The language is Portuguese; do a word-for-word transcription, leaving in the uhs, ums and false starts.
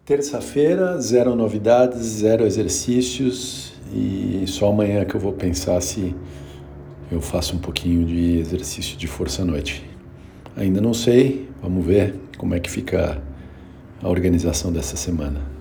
Terça-feira, zero novidades, zero exercícios e só amanhã que eu vou pensar se eu faço um pouquinho de exercício de força à noite. Ainda não sei, vamos ver como é que fica a organização dessa semana.